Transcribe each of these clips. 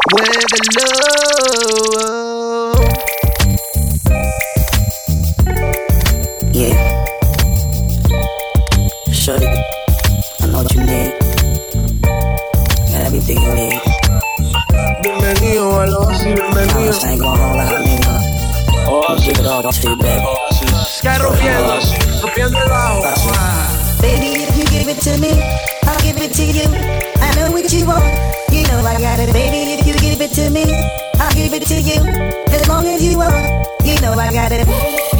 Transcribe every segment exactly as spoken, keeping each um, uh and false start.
Muévelo. Yeah. Shorty, I know what you need. Got everything you need. Bienvenido a los así, bienvenido. Promise I ain't gon' hold out, nigga. Don't give it all, don't stay back. Sky rompiendo, rompiendo el bajo. Baby, if you give it to me, I'll give it to you. I know what you want, you know I got it. Baby, if you give it to me, I'll give it to you. As long as you want, you know I got it.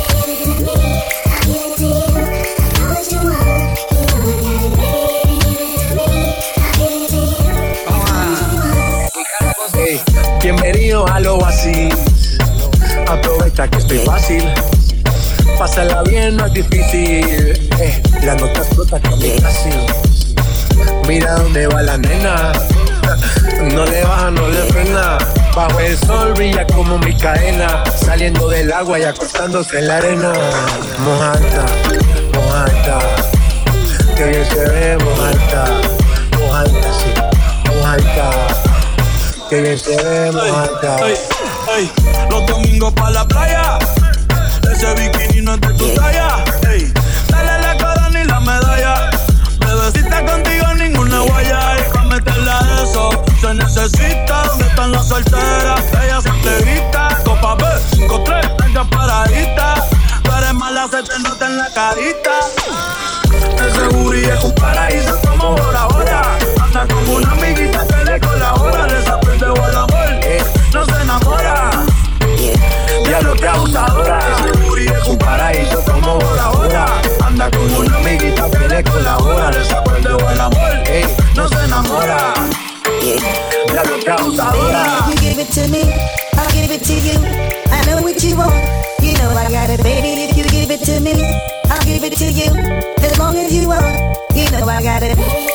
Hey, bienvenido a lo así. Aprovecha que estoy fácil. Pásala bien, no es difícil. Eh, la nota explota con mi casi. Mira dónde va la nena. No le baja, no le frena. Bajo el sol brilla como mi cadena. Saliendo del agua y acostándose en la arena. Mojata, mojata. Que bien se ve, mojata. Mojata, sí, mojata. Que bien se ve, mojata. Ey, ey, los domingos pa' la playa. Ese bikini no es de tu talla. Ey, dale la corona y la medalla. Bebecita contigo ninguna guaya. Y pa' meterla a eso se necesita. ¿Dónde están las solteras? Ella siempre grita. Copa B, cinco tres, venga paradita. Tú eres mala, se te nota en la carita. Ese booty es un paraíso como Bora Bora. Anda como una amiguita que le colabora. Desaprende el amor, no se enamora. Ya lo que abusadora. Ese booty es un paraíso como Bora Bora. Anda como una amiguita que le colabora. Desaprende el amor, no se enamora. Ya lo que abusadora. If you give it to me, I'll give it to you. I know what you want, you know I got it. Baby, if you give it to me, I'll give it to you. As long as you want, you know I got it.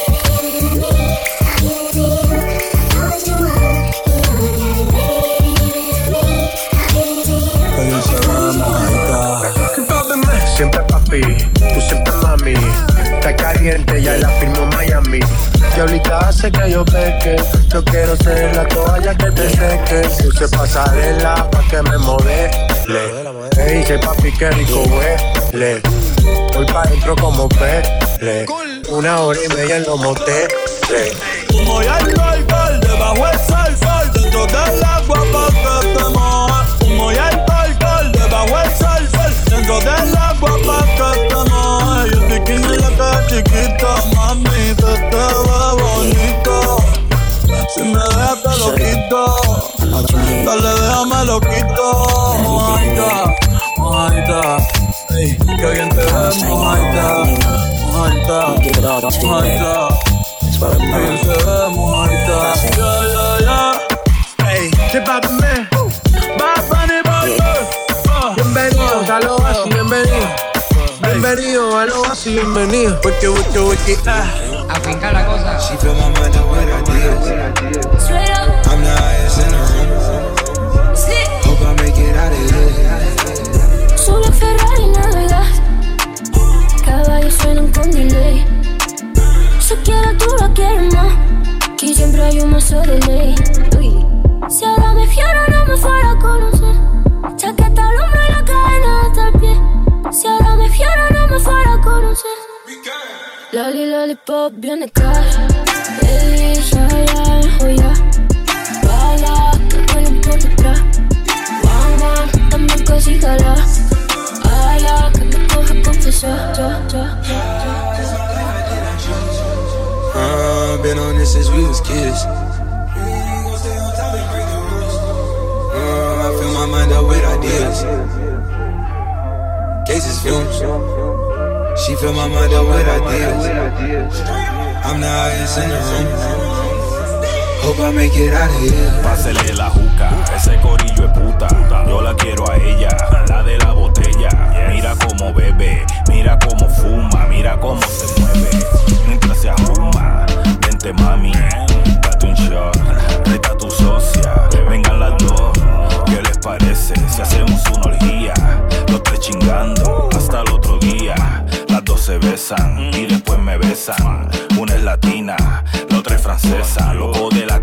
Siempre papi, tú siempre mami. Está caliente, ya la firmo Miami. Diablita hace que yo peque. Yo quiero ser la toalla que te seque. Puse pasarela pa' que me modele. Me dice papi que rico huele. Voy pa' dentro como pele. Una hora y media en los moteles. Humo y alcohol, debajo el sol, sol. Dentro del agua pa' que te mojes. Humo y alcohol, debajo el sol, sol. Dentro del agua pa' que te mojes. Y el bikini le queda chiquito, mami, que te ve bonito. Si me dejas te lo quito. Dale, déjame lo quito. Mojadita, mojadita. Ey, que bien te ves, mojadita. Mojadita, mojadita. Que bien se ve, mojadita. Yeah, yeah, yeah. Ey, ¿qué papi me? Bad Bunny, baby. Bienvenidos a lo así, bienvenido. Bienvenido a lo así, bienvenido. Wiki, wiki, wiki. Afinca la cosa. She fill my mind up with ideas. I'm the highest in the room. Hope I make it out of here. Solo Ferrari navegas. Caballos suenan con delay. Si quieres tú la quieres más. Aquí siempre hay un mazo de ley. Uy. Si ahora me fiera no me fuera a conocer. Chaqueta al hombro y la cadena hasta el pie. Si ahora me fiera no me fuera a conocer. Loli, lollipop, viene cash. Baby, ya, ya, joya. Baila, que huele por detrás. Guau, guau, también casi jala. Ala, que me coge confesar. Ya, ya, ya. Uh, been on this since we was kids. Uh, I fill my mind up with ideas. Cases fumes. She fill my mind up with ideas. I'm the highest in the room. Hope I make it out of here. Pásele la juca, ese corillo es puta. Yo la quiero a ella, la de la botella. Mira cómo bebe, mira cómo fuma, mira cómo se mueve. Mientras se arruma, vente mami, date un shot, reta a tu socia. Vengan las dos, ¿qué les parece? Si hacemos una orgía, los tres chingando hasta el otro día. Las dos se besan y después me besan. Una es latina, la otra es francesa. Loco de la cabeza,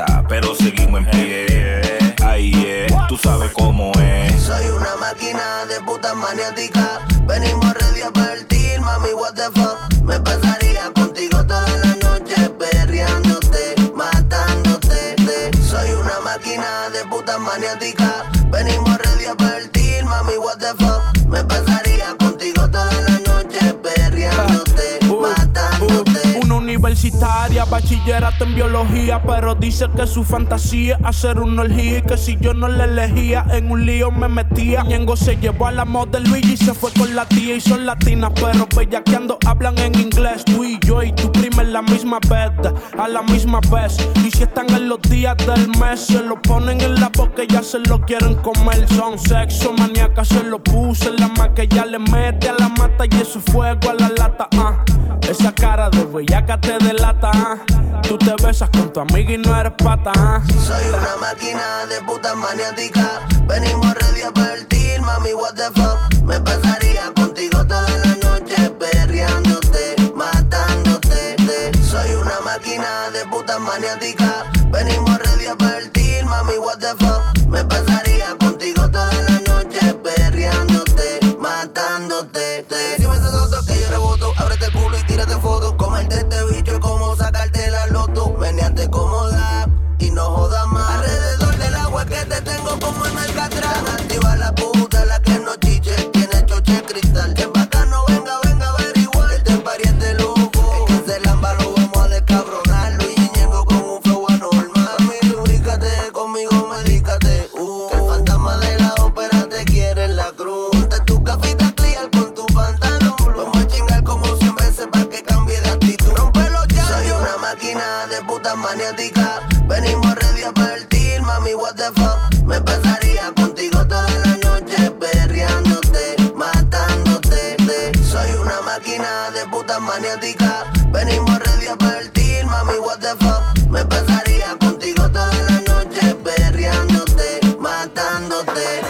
casa, pero seguimos en pie. Ahí es, tú sabes cómo es. Soy una máquina de puta maniática. Venimos ready a partir, mami, what the fuck. Me pasaría contigo toda la noche, perreándote, matándote. Soy una máquina de puta maniática. Venimos ready a partir, mami, what the fuck. Me pasaría contigo toda la noche, perreándote, uh, matándote. Uh, una universitaria, bachillerato en biología, pero dice que su fantasía es hacer una orgía y que si yo no la elegía, en un lío me metía. Ñengo se llevó a la model Luigi y se fue con la tía y son latinas, pero bellaqueando hablan en inglés. Tú y yo y tu prima en la misma bed, a la misma vez. Y si están en los días del mes, se lo ponen en la boca y ya se lo quieren comer. Son sexo maníacas, se lo puse en la más que ya le mete a la mata y eso fuego a la lata. Ah, esa cara de bellaca te delata. Ah, tú te besas con tu amiga y no eres pata. Ah. Soy una máquina de puta maniática. Venimos ready a partir, mami, what the fuck. Me pasaría contigo toda la noche, perreándote, matándote. Soy una máquina de puta maniática. Venimos ready a partir, mami, what the fuck. Me pasaría contigo toda la noche, perreándote, matándote. Si me estás otro que yo reboto, ábrete el culo y tírate foto. Comerte este bicho y como sacarte la loto. Meneate cómoda y no jodas más. Alrededor del agua que te tengo como en Alcatraz. Activa la puta, la que no chiche, tiene choche cristal. Que bacano, venga, venga, averiguar. Este pariente loco, es que se lamba, lo vamos a descabronarlo. Y Ñengo con un flow anormal. Mami, lubricate, conmigo medícate. Uh, que el fantasma de la ópera te quiere en la cruz. Ponte tu cafita clear con tu pantalón. Vamos a chingar como cien veces para que cambie de actitud. Rompelo ya. Soy una máquina de puta maniática. Venimos ready a partir, mami, what the fuck. Me pasaría contigo toda la noche, perreándote, matándote. Soy una máquina de puta maniática. Venimos ready a partir, mami, what the fuck. Me pasaría contigo toda la noche, perreándote, matándote.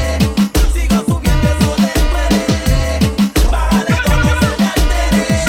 Sigo subiendo eso de muere. Bájale con eso de altere.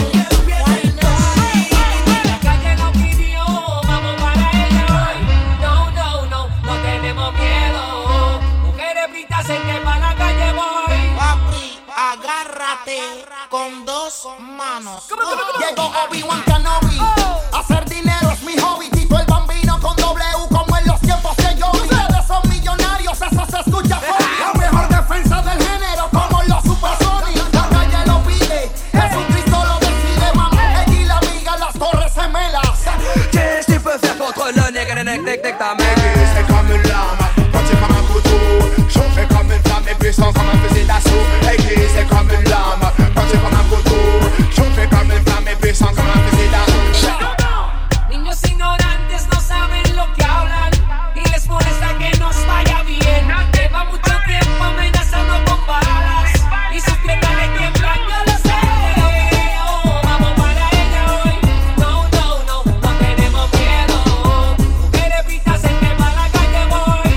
La calle nos pidió, vamos para ella hoy. No, no, no, no tenemos miedo. Mujeres britas en que para la calle voy. Papi, agárrate con dos manos. Llegó Obi-Wan Kenobi. Hacer dinero es mi hobby. Tito el Bambino con W como en los tiempos que yo vi. Ustedes son millonarios, eso se escucha fuerte. La mejor defensa del género como los Supersonics. La calle lo pide, Jesucristo lo decide. Mam, ella y la amiga, las torres gemelas. Qu'est-ce que tu peux faire contre le nègre, nègre, nègre, nègre, ta mère? C'est comme une lame, pointé comme un couteau. Chauffé comme une flamme et puissant comme un fusil d'assaut. Aiguë, c'est comme une lame, pointé comme un couteau. Chauffé comme une flamme et puissant comme un fusil d'assaut. Niños ignorantes no saben lo que hablan y les molesta que nos vaya bien. Lleva mucho tiempo amenazando con balas y sus piernas le tiemblan, yo lo sé. Oh, vamos para ella hoy. No, no, no, no tenemos miedo. Mujeres britas en que para la calle voy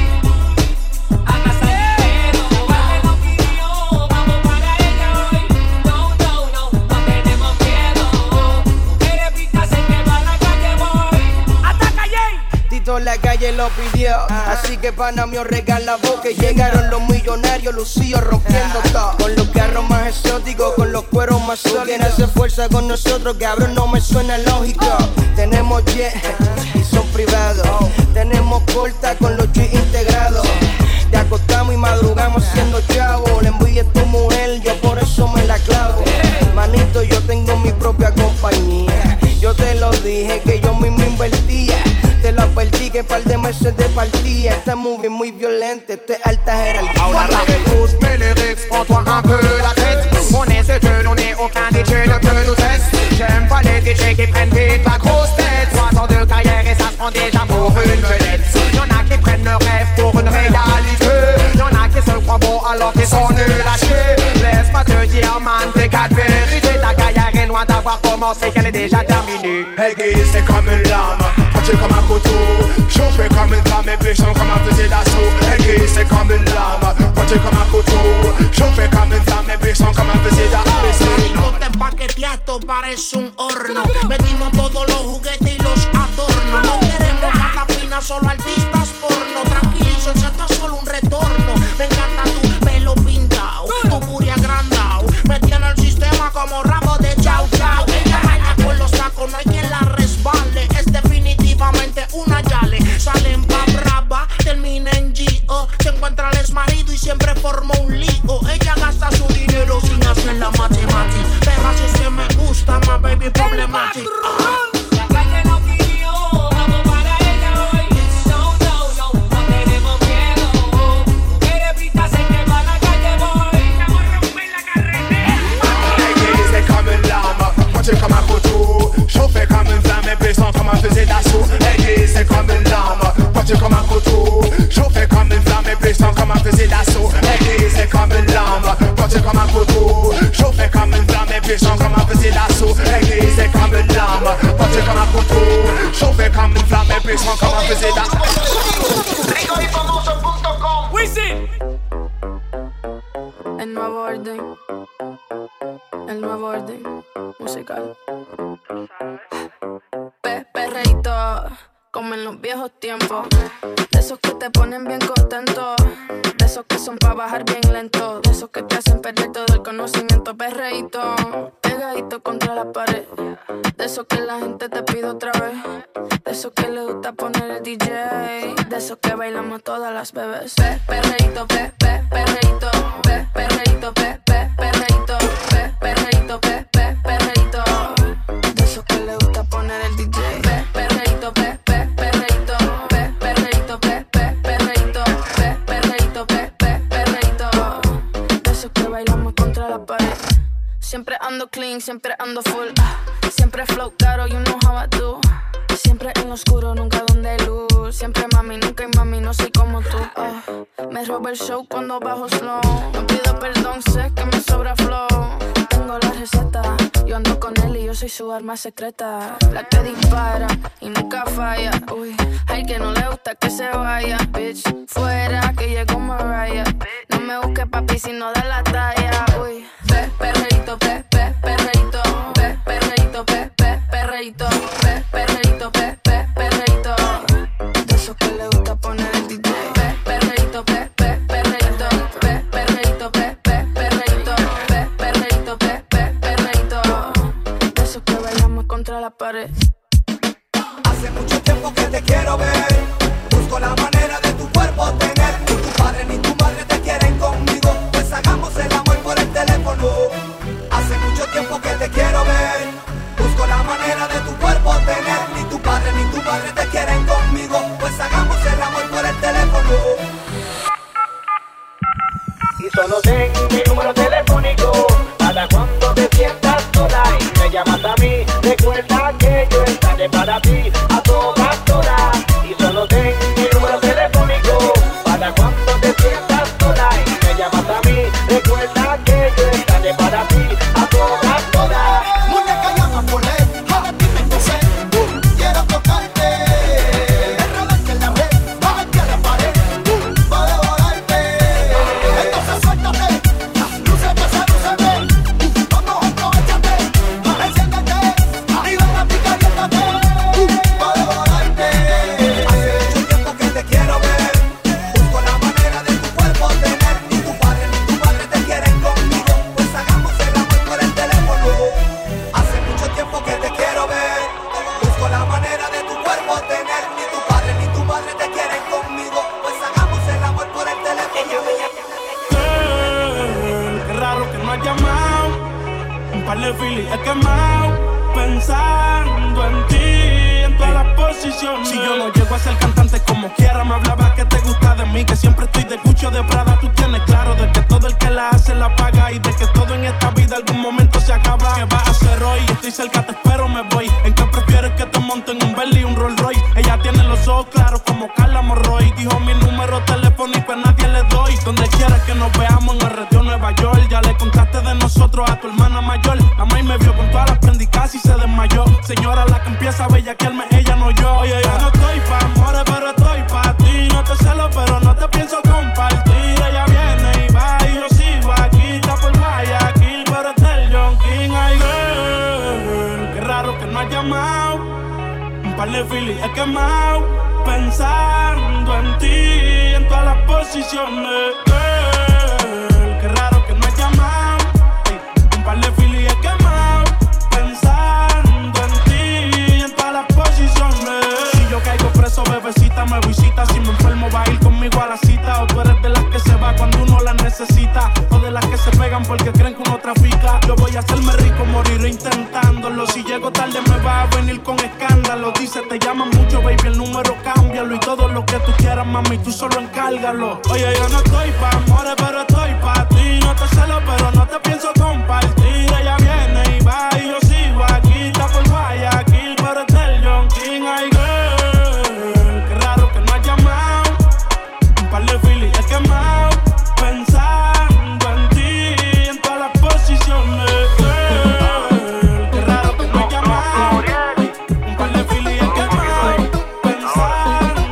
a casa dinero. Vale lo pidió, vamos para ella hoy. No, no, no, no tenemos miedo. Mujeres britas en que para la calle voy. ¡Ataca, Jay! Tito la calle lo pidió, así que pana mío regala boca. Llegaron los millonarios, lucidos rompiendo todo. Con los carros más exóticos, con los cueros más sólidos. Quien hace fuerza con nosotros, cabrón, no me suena lógico. Tenemos jet y son privados. Tenemos corta con los G integrados. Te acostamos y madrugamos siendo chavo. Le envidia a tu mujer, yo por eso me la clavo. Manito, yo tengo mi propia compañía. Yo te lo dije que yo mismo invertía. Te lo advertí que par de meses de partida. Esta movie muy violenta, esta es alta jerarquía. Ahora écoute mes lyrics, prends-toi un peu la tête. On est ce que l'on est, aucun D J ne peut nous tester. J'aime pas les D J qui prennent vite la grosse tête. Trois ans de carrière et ça se prend déjà pour une vedette. Y'en a qui prennent le rêve pour une réalité. Y'en a qui se croient bons alors qu'ils sont nuls à chier. Laisse-moi te dire, man, t'es quatre vérités. Ta carrière est loin d'avoir commencé, qu'elle est déjà terminée. Aiguë, c'est comme une lame, pointé comme un couteau. Chauffé comme une flamme et puissant comme un fusil d'assaut. Aiguë, c'est comme une lame, pointé comme un couteau. Chauffé comme une flamme et puissant comme un fusil d'assaut. Te empaquetea, esto parece un horno. Metimos todos los juguetes y los adornos. No queremos más la a visit that. rico y famoso punto com. Wisin. El nuevo orden. El nuevo orden musical. Pe perreíto, como en los viejos tiempos. De esos que te ponen bien contento. De esos que son pa' bajar bien lento. De esos que te hacen perder todo el conocimiento. Perreíto, pegadito contra la pared. De esos que la gente te pide otra vez. De esos que le gusta poner el D J. De esos que bailamos todas las bebés. Pe perreíto, pe pe perreíto. Pe perreíto, pe pe perreíto. Pe perreíto, pe pe perreíto. De esos que le gusta poner el D J. Pe perreíto, pe pe perreíto. Pe perreíto, pe pe perreíto. Pe perreíto, pe pe perreíto. De esos que bailamos contra la pared. Siempre ando clean, siempre ando full. Siempre flow caro, you know how I do. Siempre en lo oscuro, nunca donde hay luz. Siempre mami, nunca hay mami, no soy como tú. uh, Me roba el show cuando bajo slow. No pido perdón, sé que me sobra flow. Tengo la receta, yo ando con él y yo soy su arma secreta. La que dispara y nunca falla. Uy, hay que no le gusta que se vaya. Bitch, fuera que llegó Mariah. No me busques papi si no da la talla. Uy, pe, perreíto, pe, pe, perreíto. Pe, perreíto, pe, pe, perreíto. Pe, perreíto, pe, pe, perreíto. De esos que le gusta poner el D J. Pe, perreíto, pe, pe, perreíto. Pe, perreíto, pe, pe, perreíto. Pe, perreíto, pe, pe, perreíto. De esos que bailamos contra la pared. Hace mucho tiempo que te quiero ver. Busco la manera de tu cuerpo tener. Ni tu padre ni tu madre te quieren conmigo. Pues hagamos el amor por el teléfono. Hace mucho tiempo que te quiero ver. Busco la manera de tu cuerpo tener. Ni tu padre ni tu madre te quieren conmigo. Pues hagamos el amor por el teléfono. Y solo ten mi número telefónico para cuando te sientas sola y me llamas a mí. Recuerda que yo estaré para ti a todas horas. Y solo ten mi número telefónico para cuando te sientas sola y me llamas a mí. Recuerda que yo estaré para ti a todas horas. Muñeca llama por él, ahora dime qué sé. Uh, quiero tocarte, enredarte en la red, bajarte a la pared, uh, para devorarte. Entonces suéltate, lúcete, sedúceme, uh, vamos, aprovechate, enciéndete, y ven a ti, caliéntate, uh, para devorarte. Hace mucho tiempo que te quiero ver, busco la manera de tu cuerpo tener. Ni tu padre ni tu madre te quieren conmigo, pues hagamos el amor por el teléfono. Hace mucho tiempo que te quiero ver. Busco la manera de tu cuerpo tener. Ni tu padre ni tu madre te quieren conmigo. Pues hagamos el amor por el teléfono. Girl, qué raro que no has llamado. Un par de filis he quemado. Pensando en ti, en todas las posiciones. Si yo no llego a ser cantante como quiera, me hablaba que te gusta de mí, que siempre estoy de Gucci o de Prada. Tú tienes claro de que todo el que la hace la paga y de que todo en esta vida algún momento se acaba. ¿Qué vas a hacer hoy? Estoy cerca, te espero, me voy. ¿En qué prefieres que te monten un Bentley y un Rolls Royce? Ella tiene los ojos claros como Carla Morroy. Dijo mi número telefónico a nadie le doy. Donde quieras que nos veamos en el retiro Nueva York. Ya le contaste de nosotros a tu hermana mayor. La maíz me vio con todas las prendicas y se desmayó. Señora, la que empieza a bellaquearme, ella no yo. Oye, yo no estoy pa' amores, pero estoy pa' ti. No te celo, pero no te pienso compartir. Ella viene y va y yo sigo aquí. Está por Guayaquil, pero es del John King. Ay, girl, qué raro que no has llamado. Un par de filis he quemado. Pensando en ti, en todas las posiciones. Girl, qué raro que no has llamado. Un par de filis he quemado. Pensando en ti, en todas las posiciones. Si yo caigo preso, bebecita, me visita. Si me enfermo, va a ir conmigo a la cita. O tú eres de las que se va cuando uno la necesita. O de las que se pegan porque creen que uno trafica. Yo voy a hacerme rico, moriré intentándolo. Si llego tarde me va a venir con escándalo. Dice, te llaman mucho, baby, el número cámbialo. Y todo lo que tú quieras, mami, tú solo encárgalo. Oye, yo no estoy pa' amores, pero estoy pa' ti. No te celo, pero no te pienso compartir. Ella viene y va y yo sigo aquí. Está por Guayaquil, pero es del John King. Ay, girl, qué raro que no has llamado. Un par de filis he quemado. Pensando en ti, en todas las posiciones. Girl, qué raro que no has llamado. Un par de filis he quemado. Pensando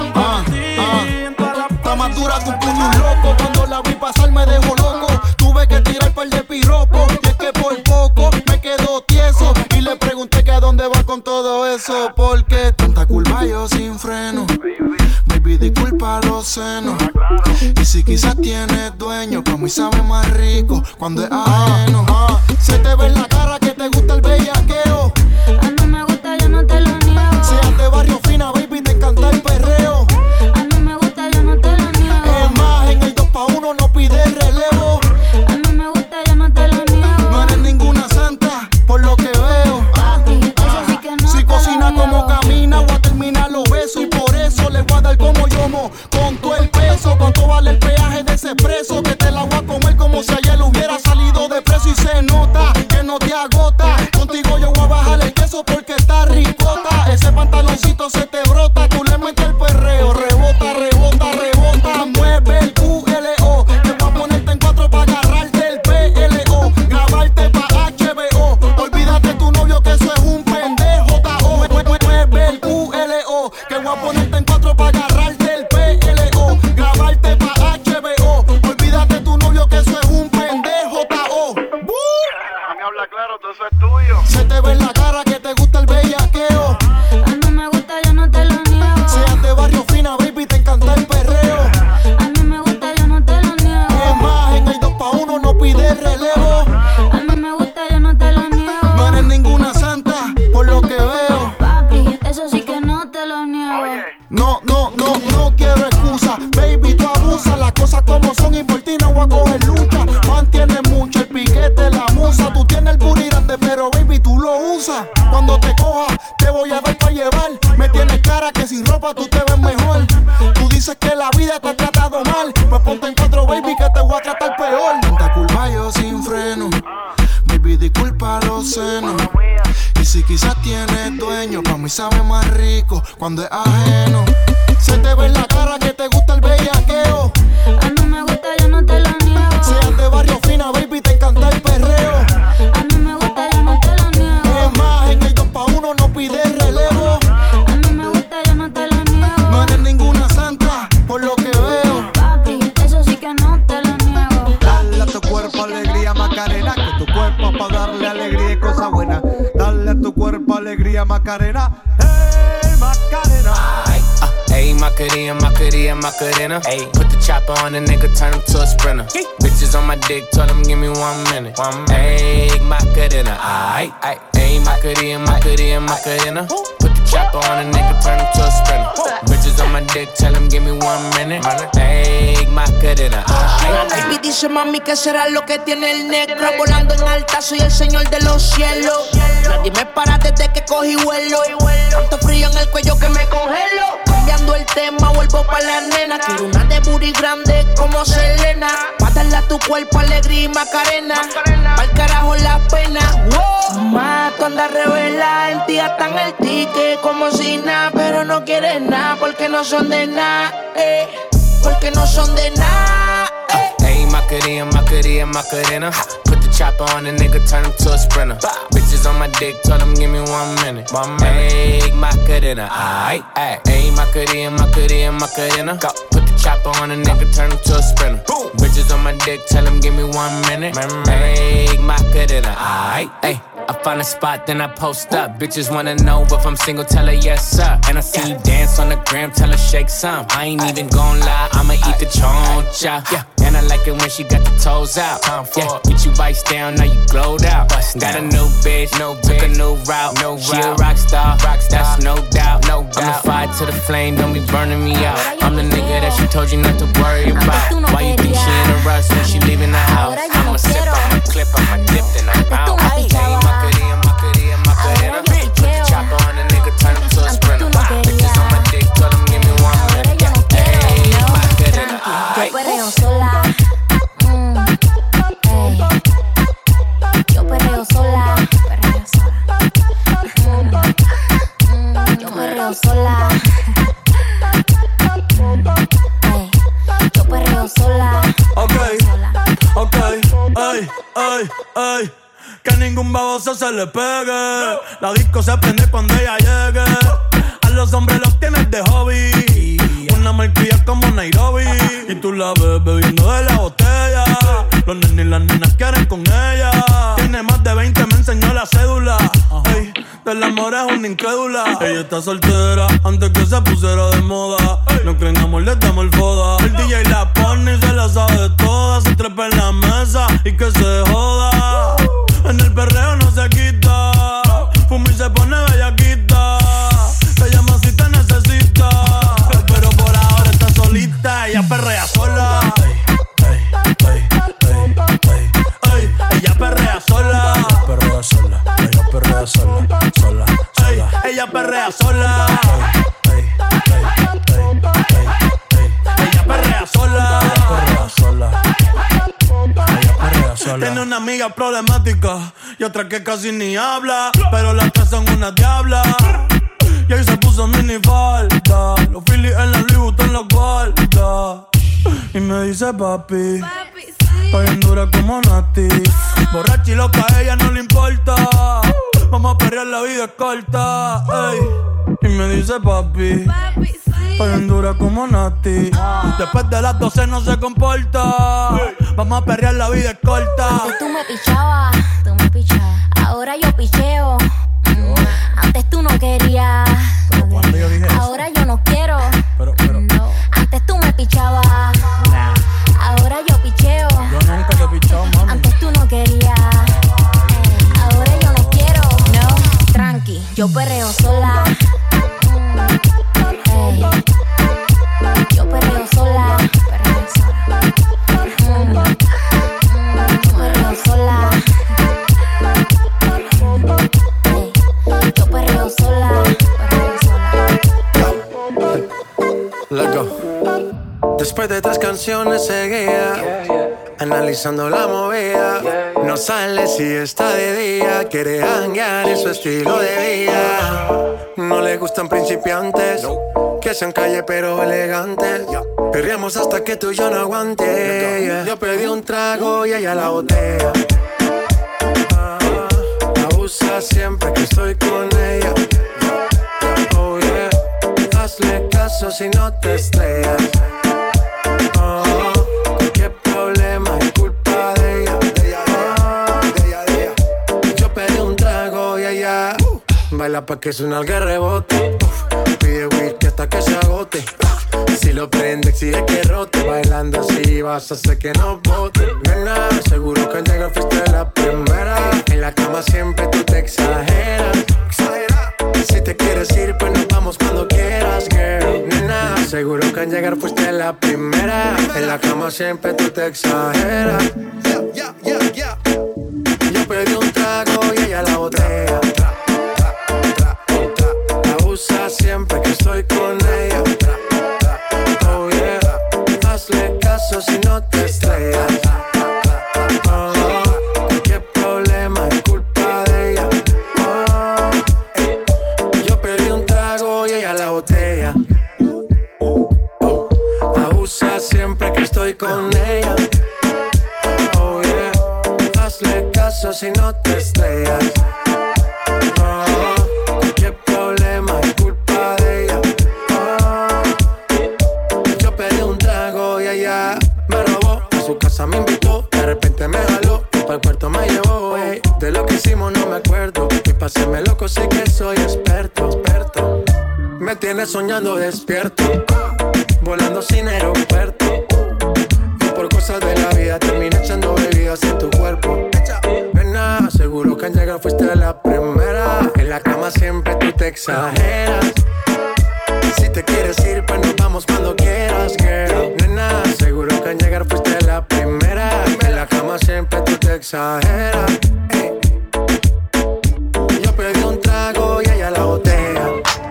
dura que un puño un loco. Cuando la vi pasar me dejó loco. Tuve que tirar par de piropos. Y es que por poco me quedo tieso. Y le pregunté que a dónde va con todo eso. Porque tanta curva yo sin freno. Baby, disculpa los senos. Y si quizás tienes dueño, pa' mí sabe más rico cuando es ajeno. Ah, se te ve en la cara que te gusta el bellaqueo. A mí me gusta, yo no te lo niego. Seas de barrio fina, baby, te encanta el perreo. A mí me gusta, yo no te lo niego. Es más, en el dos pa' uno no pide relevo. A mí me gusta, yo no te lo niego. No eres ninguna santa, por lo que veo. Papi, eso sí que no. Si cocina como camina, voy a terminar los besos. Y por eso le voy a dar como yomo. Con todo el peso, cuánto vale el peaje de ese preso. Que te la voy a comer como si ayer hubiera salido de preso. Y se nota que no te agota. Contigo yo voy a bajar el queso porque está ricota. Ese pantaloncito se te brota. Tú le metes el perreo. Rebota, rebota, rebota. Mueve el Q L O. Te voy a ponerte en cuatro para agarrarte el P L O. Grabarte pa' H B O. Olvídate tu novio que eso es un pendejo. Tajo. Mueve el Q L O. Que voy a ponerte en cuatro para agarrarte el P L O. Grabarte pa' H B O. Olvídate tu novio que eso es un pendejo. Tajo. A mí habla claro, todo eso es tuyo. Se te ve en la cara que te gusta el bellaqueo. A mí me gusta, yo no te lo niego. Seas de barrio fina, baby, te encanta el perreo. A mí me gusta, yo no te lo niego. Es más, en el dos pa' uno no pide relevo. A mí me gusta, yo no te lo niego. No eres ninguna santa, por lo que veo. Papi, eso sí que no te lo niego. No, no, no, no quiero excusa. Baby, tú abusas, las cosas como son y por ti no voy a coger lucha. Mantienes mucho el piquete, la musa. Tú tienes el booty grande, pero baby, tú lo usas. Cuando te coja, te voy a dar pa' llevar. Me tienes cara que sin ropa tú te ves mejor. Tú dices que la vida te ha tratado mal. Pues ponte en cuatro, baby, que te voy a tratar peor. Tanta curva yo sin freno. Baby, disculpa los senos. Y si quizás tienes dueño, pa' mí sabe más rico cuando es ajeno. Se te ve en la cara que te gusta el bellaqueo. A mí me gusta, yo no te lo niego. Seas de barrio fina, baby, te encanta el perreo. A mí me gusta, yo no te lo niego. Es más, en el dos pa' uno no pide relevo. A mí me gusta, yo no te lo niego. No eres ninguna santa, por lo que veo. Papi, eso sí que no te lo niego. Dale a tu cuerpo alegría, Macarena. Que tu cuerpo es pa' darle alegría y cosas buenas. Dale a tu cuerpo alegría, Macarena. Hey, Macarena. Ayy, Macarena, Macarena, Macarena. Ayy, put the chopper on the nigga, turn him to a sprinter. Bitches on my dick, tell him give me one minute. Ayy, Macarena, aight, aight. Ayy, Macarena, Macarena, Macarena. Put the chopper on the nigga, turn him to a sprinter. Bitches on my dick, tell him give me one minute. Ayy, Macarena, aight. Baby dice mami que será lo que tiene el negro. Volando en alta, soy el señor de los cielos. Nadie me para desde que cogí vuelo. Tanto frío en el cuello que me congelo. Cambiando el tema, vuelvo pa' la nena. Quiero una de booty grande como Selena. Pa' darle a tu cuerpo alegría y Macarena. Pa'l carajo la pena. Wow. Mato anda revela, en ti gastan el ticket como si nada. Pero no quieres nada porque no son de nada, eh. Porque no son de nada, eh. Ayy, Macarena, Macarena, Macarena. Put the chopper on the nigga, turn him to a sprinter. Bitches on my dick, tell him give me one minute. Ayy, Macarena, aight, aight. Ayy, Macarena, Macarena, Macarena. Put the chopper on the nigga, turn him to a sprinter. Bitches on my dick, tell him give me one minute. Ayy, Macarena, aight, ayy. I find a spot, then I post up. Bitches wanna know if I'm single, tell her yes, sir. And I see you dance on the gram, tell her shake some. I ain't even gon' lie, I'ma eat the choncha. Yeah. And I like it when she got the toes out. Yeah. Get you vice down, now you glowed out. Got a new bitch, no took a new route. No she a rock star, that's no doubt. No doubt. I'm the fire to the flame, don't be burning me out. I'm the nigga that she told you not to worry about. Why you think she in a rush when she leaving the house? I'ma sip, I'ma clip, I'ma dip, then I'm out. Macarena, Macarena, Macarena. Put the chopper on the nigga, turn him to a sprinter. Bitches on my dick, tell him give me one minute. Hey, Macarena, yo perreo sola. Mm, hey. Yo perreo sola. Perreo sola. Mm, mm, yo perreo sola. Hey. Yo perreo sola. Ok, ok, ay, ay, ay. Que ningún baboso se le pegue. La disco se prende cuando ella llegue. A los hombres los tienes de hobby. Una marquilla como Nairobi. Y tú la ves bebiendo de la botella. Los nenes y las nenas quieren con ella. Tiene más de veinte, me enseñó la cédula. Ey, del amor es una incrédula. Ella está soltera antes que se pusiera de moda. No creen amor, le damos el foda. El D J la pone y se la sabe toda. Se trepa en la mesa y que se joda. En el perreo no se quita. Fuma y se pone bellaquita. Te llama si te necesita. Pero por ahora está solita. Ella perrea sola. Ella perrea sola. Ella perrea sola. Ella perrea sola. Sola, sola. Ella perrea sola. Ella perrea sola. Ella perrea sola. Ella perrea sola. Tiene una amiga problemática y otra que casi ni habla, pero las tres son una diabla. Y ahí se puso mini falta. Los Phillies en la Louis Vuitton los guarda. Y me dice papi, está bien dura como Nati. Borracha y loca, a ella no le importa. Vamos a perrear, la vida es corta. Ey. Y me dice papi, está bien dura como Nati. Después de las doce no se comporta. Vamos a perrear, la vida es corta. Antes tú me pichabas, tú me pichabas. Ahora yo picheo. Mm. Antes tú no querías. Pero cuando yo dije ahora eso, yo no quiero. Pero, pero. No. Antes tú me pichabas. Nah. Ahora yo picheo. Yo nunca te he pichado, mami. Antes tú no querías. Ahora yo no quiero. No. Tranqui, yo perreo sola. Ey. Yo perreo sola. Perreo sola. Mm. Yo perreo sola. Ey. Yo perreo sola. Perreo sola. Let's go. Después de tres canciones seguía analizando la movida. No sale si está de día. Quiere hanguear en su estilo de vida. No le gustan principiantes que sean calle pero elegantes. Perreamos hasta que tú y yo no aguante. Yo pedí un trago y ella la botella. La usa siempre que estoy con ella. Oh yeah. Hazle caso si no te estrellas. Oh, qué problema es culpa de ella. De ella, de ella, de ella. Yo pedí un trago y ella uh, baila pa' que suena el que rebote. Uh, pide whisky hasta que se agote. Uh, si lo prende exige que rote. Bailando así vas a hacer que no bote. Nena, seguro que al llegar fuiste la primera. En la cama siempre tú te exageras. Si te quieres ir, pues nos vamos cuando quieras, girl. Nena, seguro que al llegar fuiste la primera. En la cama siempre tú te exageras. Yeah, yeah, yeah, yeah. Yo pedí un trago y ella la botella. La usa siempre que estoy con ella. Oh yeah. Hazle caso si no te estrellas. Oh, qué problema es culpa de ella. La botella abusa siempre que estoy con ella. Oh yeah, hazle caso si no te estrellas. Oh, qué problema es culpa de ella. Oh, yo pedí un trago y ella me robó. A su casa me invitó, de repente me jaló. Para el cuarto me llevó, ey. De lo que hicimos no me acuerdo. Y pa' hacerme loco sé que soy experto, experto. Me tienes soñando despierto, volando sin aeropuerto. Y por cosas de la vida terminé echando bebidas en tu cuerpo. Nena, seguro que al llegar fuiste la primera. En la cama siempre tú te exageras. Si te quieres ir, pues nos vamos cuando quieras, girl. Nena, seguro que al llegar fuiste la primera. En la cama siempre tú te exageras. Ey. Yo pedí un trago y ella la botella.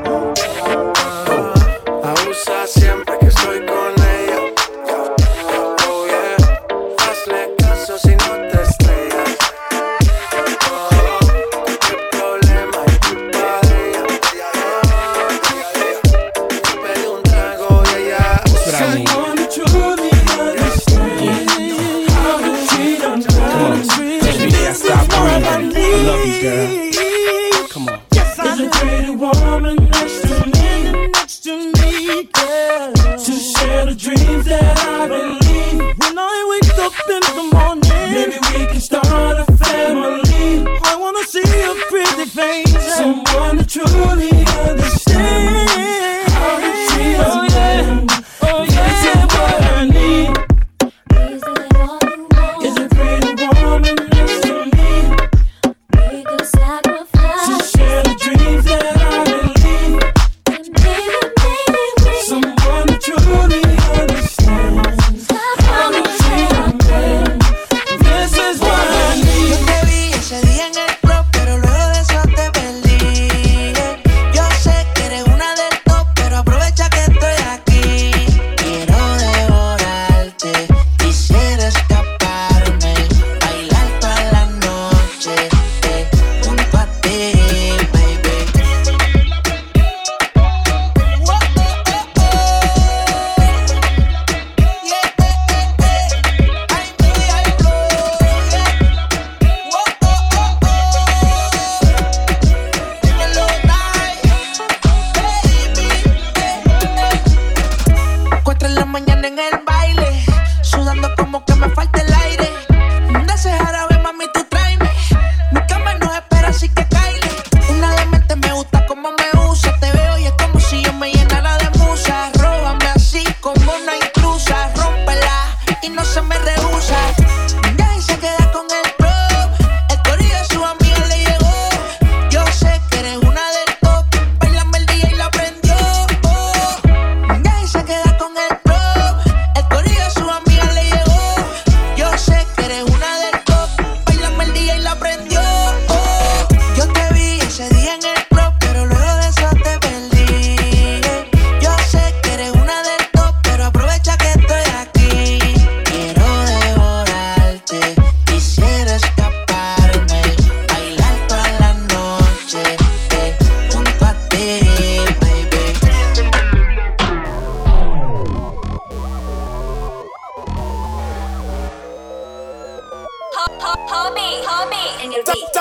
Abusa siempre que estoy con ella. Oh yeah, hazle caso si no te estrellas. Oh, qué problema es culpa de ella. Yo pedí un trago y ella. Someone truly understand how to treat them. Every day I stop breathing. I love you, girl. Come on. There's a pretty woman next to me, next to me, girl, to share the dreams that I've been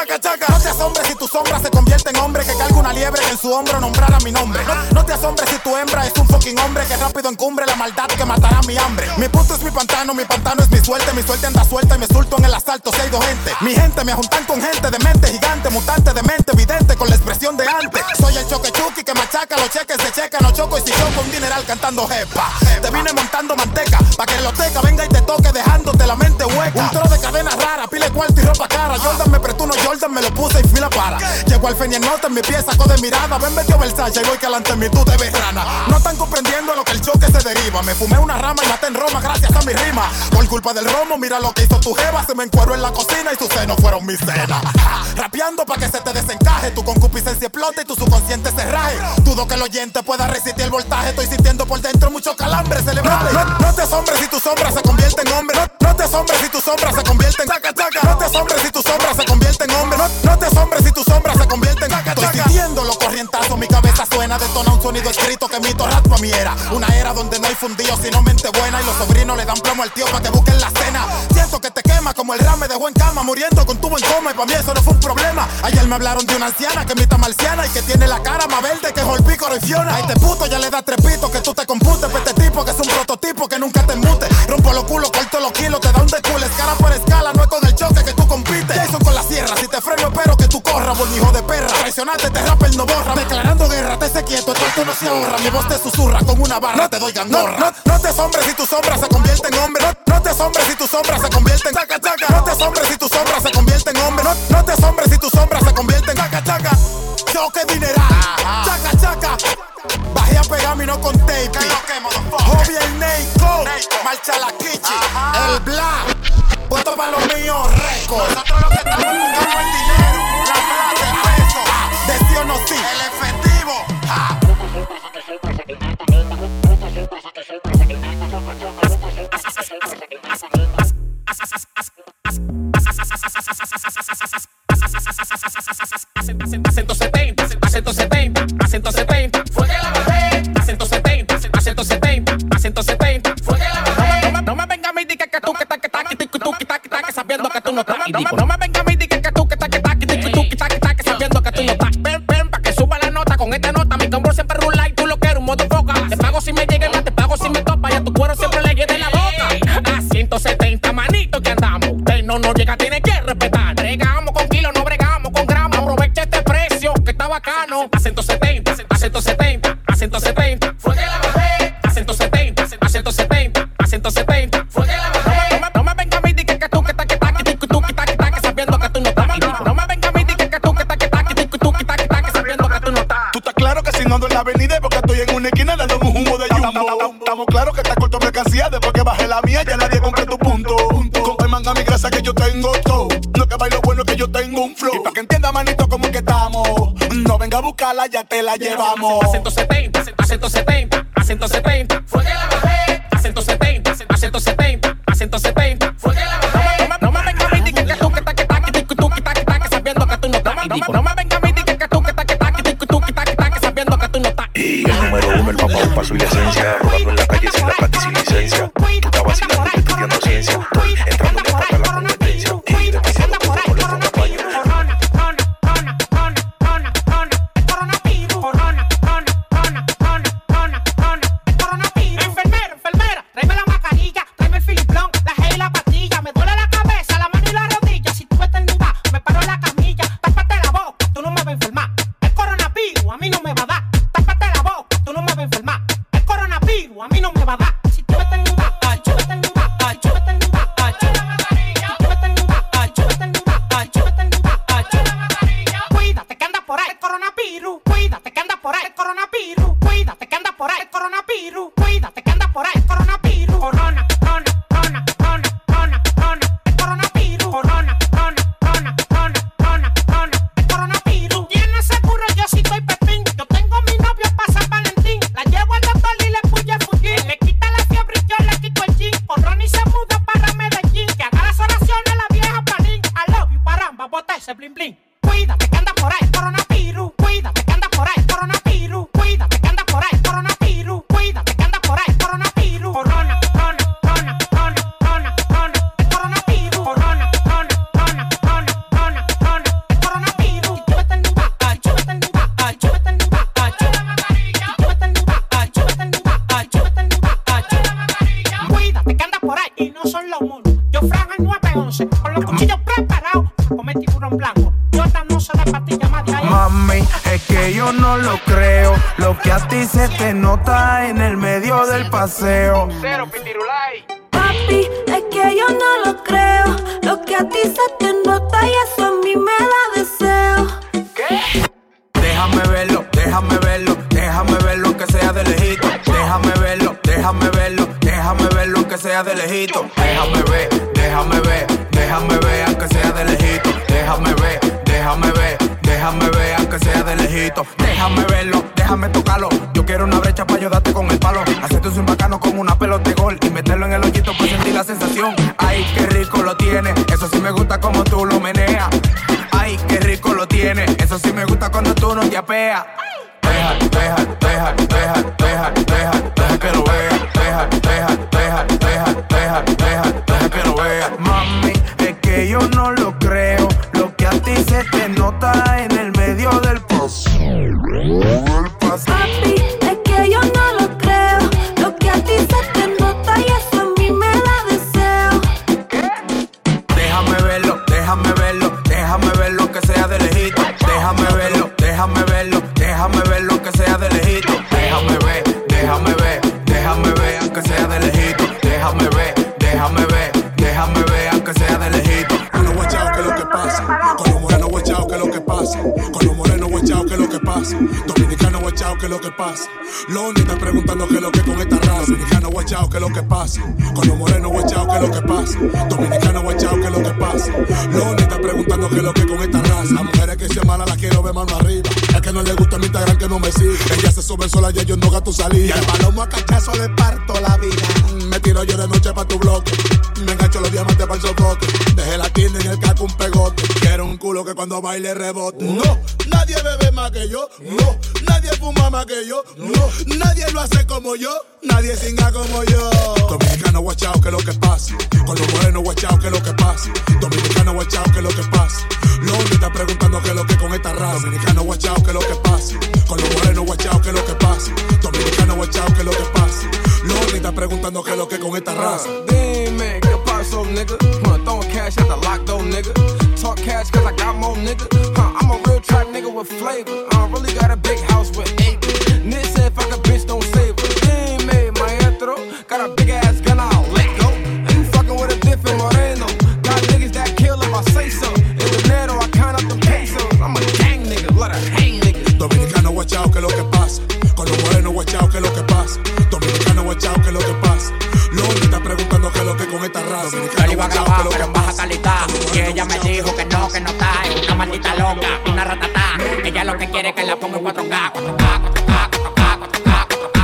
Chaca, chaca. No te asombres si tu sombra se convierte en hombre que carga una liebre que en su hombro nombrara mi nombre. No, no te asombres si tu hembra es un fucking hombre que rápido encumbre la maldad que matará mi hambre. Mi punto es mi pantano, mi pantano es mi suerte. Mi suerte anda suelta y me sulto en el asalto si hay dos gente. Mi gente me juntan con gente de mente gigante, mutante de mente evidente con la expresión de antes. Soy el choque chuki que machaca los cheques de checa. No choco y si choco un dineral cantando jepa. Te vine montando manteca pa' que el loteca venga y te toque dejándote la mente hueca. Un tro de cadenas raras, pile cuarto y ropa cara. Jordan me prestó unos Jordan, me lo puse y fila para. Llegó al Fenienota en mi pie, sacó de mirada. Ven, metió Versace y voy que alante en mi tú te ves rana. No están comprendiendo lo que el choque se deriva. Me fumé una rama y maté en Roma gracias a mi rima. Por culpa del romo, mira lo que hizo tu jeva. Se me encueró en la cocina y sus senos fueron mi cena. Rapeando pa' que se te desencaje. Tu concupiscencia explote y tu subconsciente se raje. Dudo que el oyente pueda resistir el voltaje. Estoy sintiendo por dentro mucho calambre celebrable. No, no, no te asombres si tu sombra se convierte en hombre. No, no te asombres si tu sombra se convierte en chaca, chaca. No te asombres si tu sombra se convierte en hombre. No, no te asombres si tu sombra se convierte en chaca, chaca. Estoy sintiendo los corrientazos, mi cabeza suena. Detona un sonido escrito que mito rap pa' mi era. Una era donde no hay fundido sino mente buena. Y los sobrinos le dan plomo al tío pa' que busquen la cena. Siento que te quema como el ram me dejó en cama. Muriendo con tubo en coma y pa' mí eso no fue un problema. Ayer me hablaron de una anciana que imita marciana y que tiene la cara más verde que Holpícoro y Fiona. A este puto ya le da tres pitos que tú te computes. Pa' este tipo que es un prototipo que nunca te embute. Rompo los culos, corto los kilos, te da un decul. Escala por escala, no es con el choque que tú compites. Jason con la sierra, si te freno espero que tú corras. Buen hijo de perra, traicionante te rapa el no borra. Declarando guerra, te sé quieto, esto no se ahorra. Mi voz te susurra con una barra, te doy gangorra. No, no, no te asombres si tu sombra se convierte en hombre. No, no te asombres si tu sombra se convierte en chaca, chaca. No te asombres si tu sombra se convierte en hombre. No, no te asombres si tu sombra se convierte en chaca, chaca. Choque dineral, chaca, chaca. Bajé a pegarme y no con tape. Hobby el Neiko, marcha la Kichi, el Black, puesto para los míos récords. Nosotros lo que estamos buscando el dinero, la plata, el peso, de sí o no sí, el efectivo. Ah. A ciento setenta, a ciento setenta, a ciento setenta, fue que la bajé. A ciento setenta, a ciento setenta, a ciento setenta, fue que la bajé. No me, no me venga a mí di que que tú que ta que ta que tú que ta que ta que sabiendo que tú no estás. No me, no me venga a mí di que que tú que ta que ta que tú que ta que ta que sabiendo que tú no estás. Ven, ven pa que suba la nota con esta nota. Mi tambor siempre rula y tú lo quieres un modo foca. Te pago si me llega más, te pago si me topa y a tu cuero siempre le llene la boca. A ciento setenta, manito que andamos. Usted no nos llega, tiene que respetar. Bregamos con kilos, no bregamos con gramos. Aprovecha este precio que está bacano. A ciento setenta, a ciento setenta, a ciento setenta, fue que la bajé. A ciento setenta, a ciento setenta, a ciento setenta, fue que la bajé. No me, no me venga a mí di que que tú que ta que ta que tú que ta que ta que sabiendo que tú no estás. No me venga a mí di que que tú que ta que ta que tú que ta que ta que sabiendo que tú no estás. Tú estás claro que si no ando en la avenida porque estoy en una esquina dando un humo de jumbo. Estamos claros que está corto mercancía después que bajé la mía ya nadie compra tu punto. Compra manga mi grasa que yo tengo todo. No que bailo bueno que yo tengo un flow. Y pa' que entienda manito como que estamos. No venga a buscarla, ya te la llevamos. A ciento setenta, a ciento setenta, a ciento setenta, fue que la bajé. A ciento setenta, a ciento setenta, a ciento setenta, fue que la bajé. No me, no me venga a mí di que que tú que ta que ta que tú que ta que ta que sabiendo que tú no estás. No me, no me venga a mí di que que tú que ta que ta que tú que ta que ta que sabiendo que tú no estás. Y el número uno, el papá, un paso y la esencia. Rodando en la calle sin la plata y sin licencia. Tú estás vacilando y estudiando ciencia. Estoy entrando en para la competencia. Y demasiado como le pongo paño. Enfermera, enfermera, tráeme la mascarilla, tráeme el filiplón, la gel y la pastilla. Me duele la cabeza, la mano y la rodilla. Si tú eternidad, me paro en la camilla. Tápate la boca, tú no me vas a enfermar. El coronavirus a mí no me va a dar. Tápate la boca, tú no me vas a enfermar. El coronavirus a mí no me va a dar. Si tú eternidad, ay, tú eternidad, ay, tú eternidad, ay, tú eternidad, tú eternidad, ay, tú eternidad, ay, tú eternidad, ay, tú. Cuídate que anda por ahí el coronavirus. Cuídate que anda por ahí el coronavirus. Cuídate que anda por ahí el coronavirus. Cuídate que anda por ahí el coronavirus. Corona, corona, corona, corona, corona, corona, el coronavirus. Corona, corona, corona, corona, corona, corona, el coronavirus. ¿Tienes seguro? Yo sí estoy pepín. Yo tengo a mi novio para San Valentín. La llevo al doctor y le puye el fujín. Le quita la fiebre y yo le quito el jean. Con Ronnie se muda para Medellín. Que haga las oraciones la vieja Palín. I love you, paramba, bota ese blin blin. Cuídate que anda por ahí el coronavirus. Cuídate que anda por ahí el coronavirus. Cuídate que anda por ahí el coronavirus. Cuídate que anda por ahí el coronavirus. Corona, corona, ti se te nota en el medio del paseo. Cero pitirulay. Papi, es que yo no lo creo. Lo que a ti se te nota y eso a mí me da deseo. ¿Qué? Déjame verlo, déjame verlo, déjame verlo aunque sea de lejito. Déjame verlo, déjame verlo, déjame verlo aunque sea de lejito. Déjame ver, déjame ver, déjame ver aunque sea de lejito. Déjame ver, déjame ver, déjame ver aunque sea de lejito. Déjame verlo, déjame tocarlo. Yo quiero una brecha para ayudarte con el palo. Hacerte un swing bacano como una pelota de gol y meterlo en el hoyito para sentir la sensación. Ay, qué rico lo tiene, eso sí me gusta como tú lo meneas. Ay, qué rico lo tiene, eso sí me gusta cuando tú no te apeas. Deja, deja, deja, deja, deja, deja, deja que lo vea. Deja, deja, deja, deja, deja, deja, deja que lo vea. Mami, es que yo no lo creo. Lo que a ti se te nota en el medio del paso. Papi, es que yo no lo creo. Lo que a ti se te nota y eso a mí me da deseo. Déjame verlo, déjame verlo, déjame verlo que sea de lejito. Déjame verlo, déjame verlo, déjame verlo que sea de lejito. Déjame ver, déjame ver, déjame ver aunque sea de lejito. Déjame ver, déjame ver, déjame ver aunque sea de lejito. Con los guachaos, ¿qué es lo que pasa? Con los morenos guachaos, ¿qué es lo que pasa? Con los morenos guachaos, ¿qué es lo que pasa? Dominicano guachaos, ¿qué es lo que pasa? Loni está preguntando qué es lo que con esta raza. Dominicano guachaos, ¿qué es lo que pasa? Con los morenos guachaos, ¿qué es lo que pasa? Dominicano guachaos, ¿qué es lo que pasa? Loni está preguntando qué es lo que con esta raza. Las mujeres que se malas las quiero ver mano arriba. Es que no le gusta mi Instagram que no me sigue. Ella se sube sola y yo no gato salida. Y al palomo a cachazo le parto la vida. Me tiro yo de noche pa' tu bloque. Me engancho los diamantes para el sofoque. Dejé la tienda en el caco un pegote. Quiero un culo que cuando baile rebote. No, nadie bebe más que yo. No, nadie fuma más que yo. No, nadie lo hace como yo. Nadie singa como yo. Dominicano guachao, ¿qué es lo que pasa? Con los morenos guachao, ¿qué es lo que pasa? Dominicano guachao, ¿qué es lo que pasa? Loni está preguntando qué es lo que con esta raza. Dominicano guachao, ¿qué es lo que pasa? Con los morenos guachao, ¿qué es lo que pasa? Dominicano guachao, ¿qué es lo que pasa? Loni está preguntando qué es lo que con esta raza. Dime, ¿qué pasó, nigga? Huh, throwing cash at the lock though, nigga. Talk cash cause I got more, nigga. Huh, I'm a real trap nigga with flavor. I really got a big house with acres. Nigga said if I could bitch, don't save her. Dime, maestro. Got a big ass gun, I'll let go. You fucking with a different moreno. Got niggas that kill if I say so. In dinero, I count up the pesos. I'm a gang nigga, let her hang nigga. Dominicano guachao, ¿qué es lo que pasa? Con los morenos guachao, ¿qué es lo que pasa? Dominicano guachao, ¿qué es lo que pasa? Loni está preguntando qué es lo que con esta raza. Yo iba a grabar, pero en baja calidad. Y ella me dijo que no, que no está. Es una maldita loca, una ratatá. Ella lo que quiere es que la ponga en cuatro K, cuatro K, cuatro K, cuatro K, cuatro K, cuatro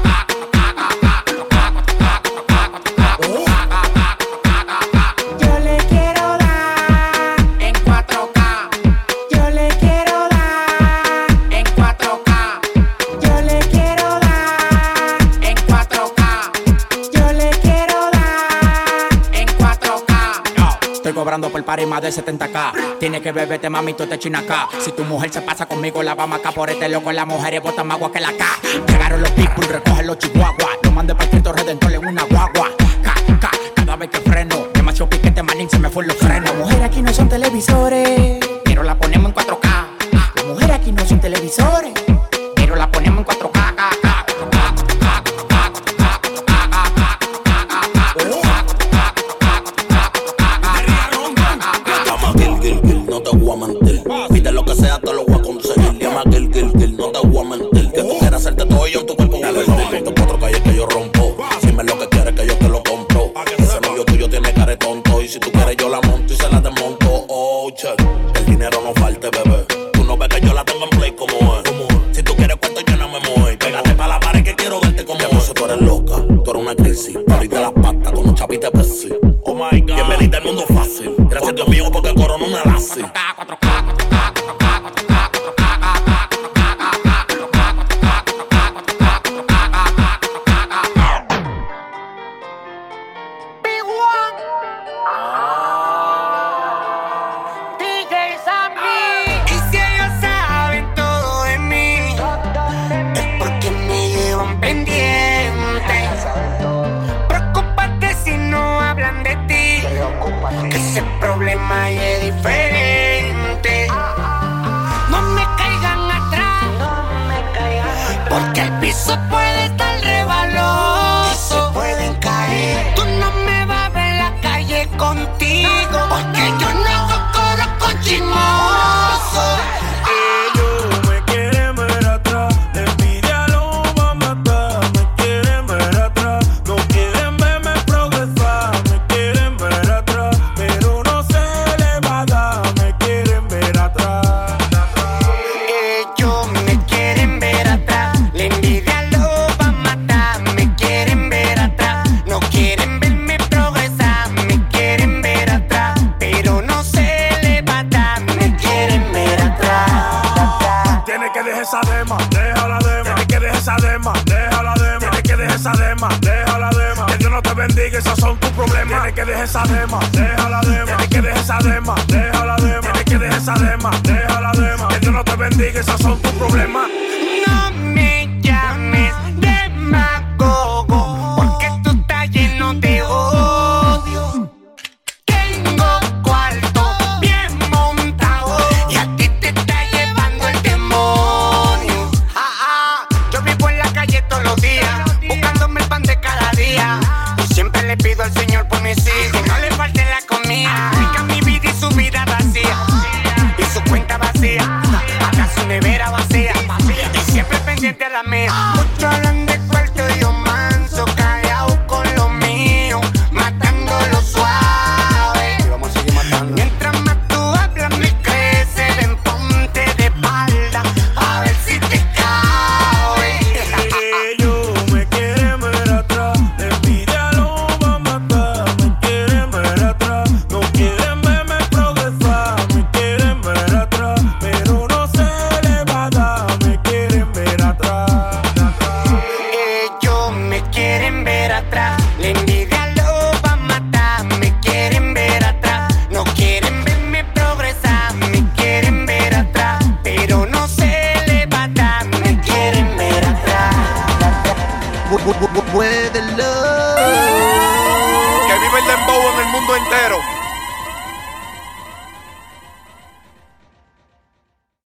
K. Yo le quiero dar en cuatro K. Yo le quiero dar en cuatro K. Yo le quiero dar en cuatro K. Yo le quiero dar en cuatro K. Estoy cobrando por party más de setenta K. Tienes que beberte, mami, tú te china acá. Si tu mujer se pasa conmigo, la vamos acá por este loco. Las mujeres botan más agua que la K. Llegaron los people, recogen los chihuahuas. Lo mandé para el Cristo Redentor en una guagua. K, K, cada vez que freno. Demasiado piquete, manín, se me fue los frenos. Las mujeres aquí no son televisores, pero la ponemos en cuatro K. las mujeres aquí no son televisores, pero la ponemos en cuatro K, K, K. No te voy a mentir, pide lo que sea, te lo voy a conseguir. Llama Gil, Gil, Gil, no te voy a mentir. Que tú quieras hacerte todo yo en tu cuerpo. Te cuatro calles que yo rompo. Dime lo que quieres que yo te lo compro. Ese novio tuyo tiene cara de tonto. Y si tú quieres yo la monto y se la desmonto. Oh, che, el dinero no falte, bebé. Tú no ves que yo la tengo en play como es. Si tú quieres cuento yo no me muevo. Pégate pa' la pared que quiero verte como es. Tú eres loca, tú eres una crisis. Ahorita las patas con un chapite pesi. Oh my God, bienvenida al mundo fácil. Gracias Dios mío porque corona una lazi. cuatro K, cuatro K, cuatro K, cuatro K, cuatro problema y es diferente. deja la dema. Que Dios no te bendiga, esos son tus problemas. Tienes que dejar esa dema, deja la dema. Tienes que dejar esa dema, deja la dema. Tienes que dejar esa dema, deja la dema. Que Dios no te bendiga, esos son tus problemas. No me llames demagogo, porque tú estás lleno de odio. Tengo cuarto bien montado y a ti te está llevando el demonio. Ah, ah, yo vivo en la calle todos los días, buscándome el pan de cada día. Y siempre le pido al Señor por mis hijos, no le falte la comida. Rica mi vida y su vida vacía, y su cuenta vacía, acá su nevera vacía. Y siempre pendiente a la mía. Muchos hablan de cuarto y yo manso, callado con lo mío, matándolo suave. Y vamos a seguir matando. Mientras más tú hablas me crece, ven ponte de espalda, a ver si te cabe. Ellos me quieren ver atrás, la envidia lo va a matar. Me quieren ver atrás, no quieren verme progresar. Me quieren ver atrás, pero no se le va a dar. Me quieren ver atrás. Ellos me quieren ver atrás, la envidia lo va a matar. Me quieren ver atrás, no quieren verme progresar. Me quieren ver atrás, pero no se le va a dar. Me quieren ver atrás. Muévelo. Que vive el dembow en el mundo entero.